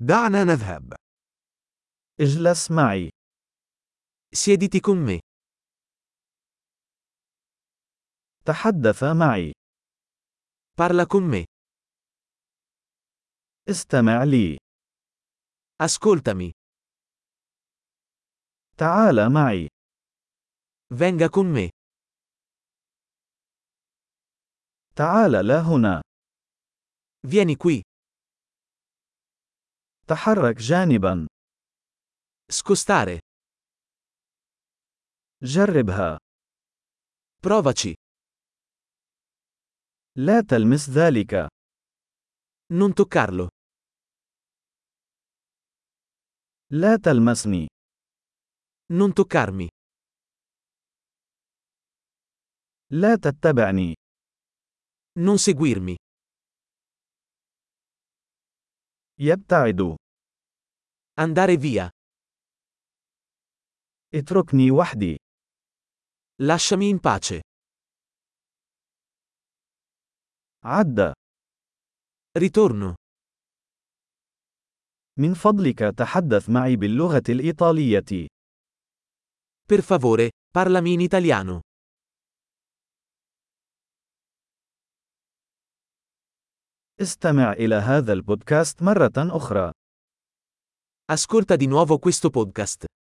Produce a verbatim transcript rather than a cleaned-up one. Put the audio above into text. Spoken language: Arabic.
دعنا نذهب. اجلس معي. Siediti con me. تحدث معي. Parla con me. استمع لي. Ascoltami. تعال معي. Venga con me. تعال لا هنا. Vieni qui. تحرك جانبا. Scostare. جربها. Provaci. لا تلمس ذلك. Non toccarlo. لا تلمسني. Non toccarmi. لا تتبعني. Non seguirmi. يبتعد. Andare via. اتركني وحدي. Lasciami in pace. عد. Ritorno. من فضلك تحدث معي باللغة الإيطالية. Per favore, parlami in italiano. استمع إلى هذا البودكاست مرة أخرى. Ascolta di nuovo questo podcast.